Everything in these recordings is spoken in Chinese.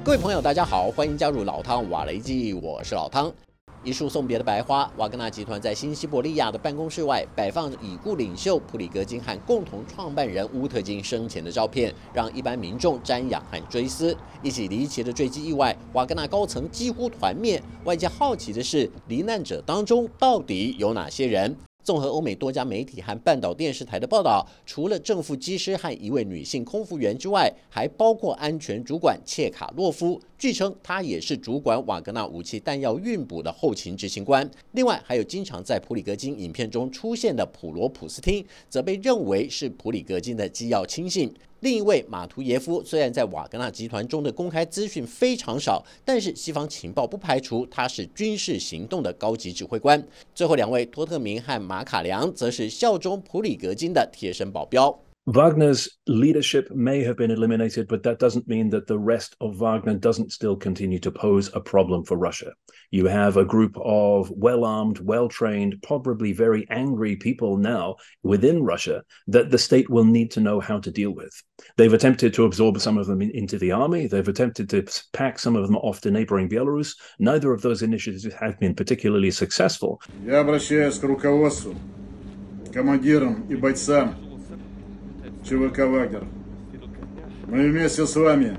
各位朋友，大家好，欢迎加入老汤瓦雷基，我是老汤。一束送别的白花，瓦格纳集团在新西伯利亚的办公室外摆放已故领袖普里格金和共同创办人乌特金生前的照片，让一般民众瞻仰和追思。一起离奇的坠机意外，瓦格纳高层几乎团灭。外界好奇的是，罹难者当中到底有哪些人？综合欧美多家媒体和半岛电视台的报道，除了正副机师和一位女性空服员之外，还包括安全主管切卡洛夫。据称，他也是主管瓦格纳武器弹药运补的后勤执行官。另外，还有经常在普里格金影片中出现的普罗普斯汀，则被认为是普里格金的机要亲信。另一位马图耶夫虽然在瓦格纳集团中的公开资讯非常少，但是西方情报不排除他是军事行动的高级指挥官。最后两位托特明和马卡良则是效忠普里格金的贴身保镖。 Wagner's leadership may have been eliminated, but that doesn't mean that the rest of Wagner doesn't still continue to pose a problem for Russia. You have a group of well-armed, well-trained, probably very angry people now within Russia that the state will need to know how to deal with. They've attempted to absorb some of them into the army. They've attempted to pack some of them off to neighboring Belarus. Neither of those initiatives have been particularly successful. Я обращаюсь к руководству, командирам и бойцам ЧВК «Вагнер». Мы вместе с вами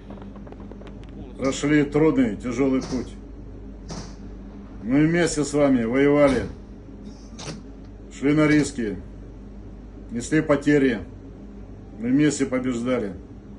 прошли трудный, тяжелый путь. Мы вместе с вами воевали, шли на риски, несли потери. Мы вместе побеждали.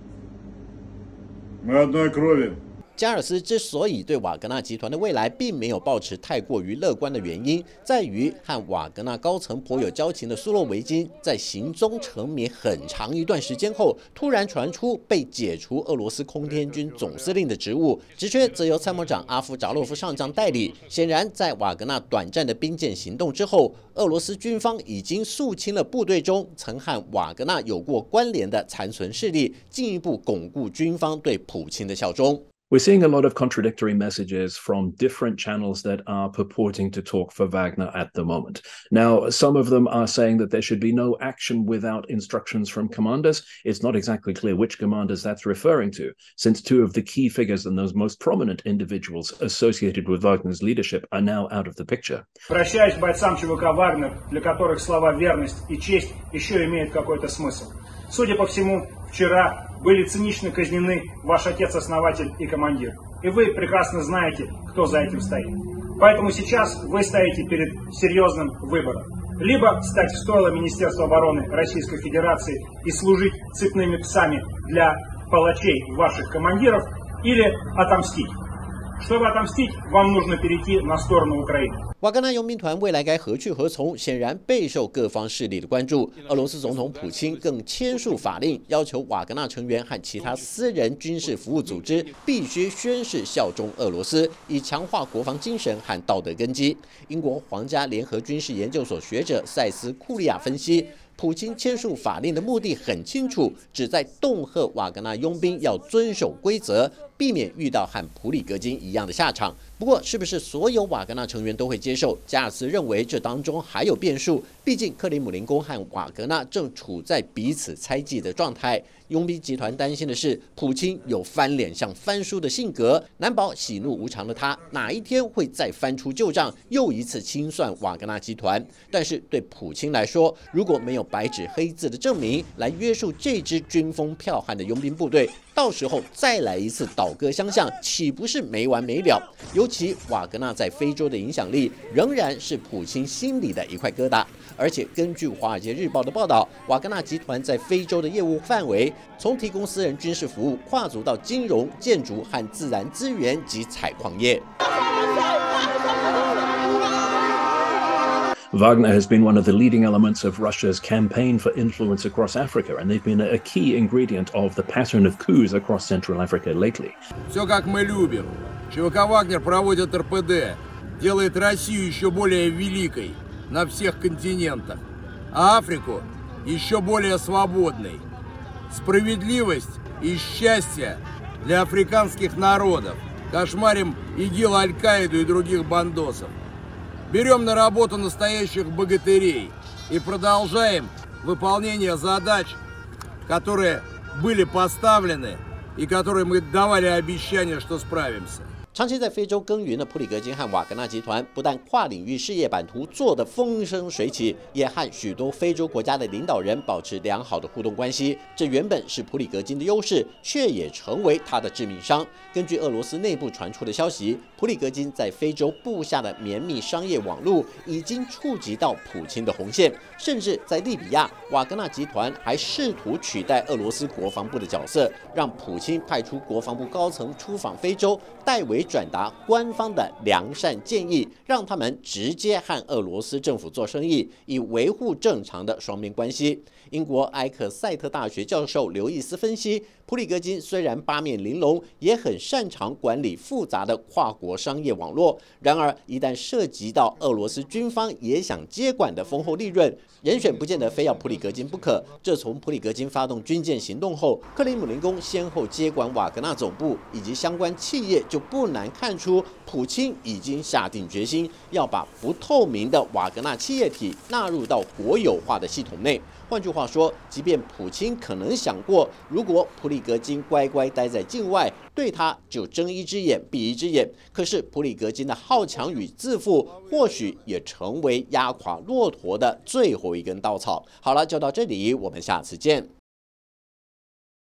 Мы одной крови. 加尔斯之所以对瓦格纳集团的未来并没有抱持太过于乐观的原因，在于和瓦格纳高层颇有交情的苏洛维金，在行踪成谜很长一段时间后，突然传出被解除俄罗斯空天军总司令的职务，职缺则由参谋长阿夫扎洛夫上将代理。显然，在瓦格纳短暂的兵谏行动之后，俄罗斯军方已经肃清了部队中曾和瓦格纳有过关联的残存势力，进一步巩固军方对普京的效忠。 We're seeing a lot of contradictory messages from different channels that are purporting to talk for Wagner at the moment. Now, some of them are saying that there should be no action without instructions from commanders. It's not exactly clear which commanders that's referring to, since two of the key figures and those most prominent individuals associated with Wagner's leadership are now out of the picture. Обращаюсь к бойцам ЧВК «Вагнер», для которых слова «верность» и «честь» еще имеют какой-то смысл. Судя по всему, вчера были цинично казнены ваш отец-основатель и командир. И вы прекрасно знаете, кто за этим стоит. Поэтому сейчас вы стоите перед серьезным выбором. Либо стать в стойло Министерства обороны Российской Федерации и служить цепными псами для палачей ваших командиров, или отомстить. Чтобы отомстить, вам нужно перейти на сторону Украины. 瓦格纳佣兵团未来该何去何从，显然备受各方势力的关注。俄罗斯总统普京更签署法令，要求瓦格纳成员和其他私人军事服务组织必须宣誓效忠俄罗斯，以强化国防精神和道德根基。英国皇家联合军事研究所学者塞斯·库利亚分析，普京签署法令的目的很清楚，旨在恫吓瓦格纳佣兵要遵守规则，避免遇到和普里格金一样的下场。不过，是不是所有瓦格纳成员都会接受？加尔斯认为这当中还有变数。毕竟，克里姆林宫和瓦格纳正处在彼此猜忌的状态。佣兵集团担心的是，普京有翻脸像翻书的性格，难保喜怒无常的他哪一天会再翻出旧账，又一次清算瓦格纳集团。但是对普京来说，如果没有白纸黑字的证明来约束这支军风剽悍的佣兵部队，到时候再来一次倒戈相向，岂不是没完没了？尤其瓦格纳在非洲的影响力仍然是普京心里的一块疙瘩。而且根据《华尔街日报》的报道，瓦格纳集团在非洲的业务范围从提供私人军事服务跨足到金融、建筑和自然资源及采矿业。 Wagner has been one of the leading elements of Russia's campaign for influence across Africa, and they've been a key ingredient of the pattern of coups across Central Africa lately. Все как мы любим. ЧВК «Вагнер» проводит РПД, делает Россию еще более великой на всех континентах, а Африку еще более свободной. Справедливость и счастье для африканских народов. Кошмарим ИГИЛ, Аль-Каиду и других бандосов. Берем на работу настоящих богатырей и продолжаем выполнение задач, которые были поставлены и которой мы давали обещание, что справимся. 长期在非洲耕耘的普里格金和瓦格纳集团，不但跨领域事业版图做得风生水起，也和许多非洲国家的领导人保持良好的互动关系。这原本是普里格金的优势，却也成为他的致命伤。根据俄罗斯内部传出的消息，普里格金在非洲布下的绵密商业网络已经触及到普京的红线，甚至在利比亚，瓦格纳集团还试图取代俄罗斯国防部的角色，让普京派出国防部高层出访非洲，代为转达官方的良善建议，让他们直接和俄罗斯政府做生意，以维护正常的双边关系。英国埃克塞特大学教授刘易斯分析，普里格金虽然八面玲珑，也很擅长管理复杂的跨国商业网络。然而，一旦涉及到俄罗斯军方也想接管的丰厚利润，人选不见得非要普里格金不可。这从普里格金发动军舰行动后，克里姆林宫先后接管瓦格纳总部以及相关企业，就不难看出，普京已经下定决心要把不透明的瓦格纳企业体纳入到国有化的系统内。换句话说，即便普京可能想过，如果普里格金乖乖待在境外，对他就睁一只眼闭一只眼。可是普里格金的好强与自负，或许也成为压垮骆驼的最后一根稻草。好了，就到这里，我们下次见。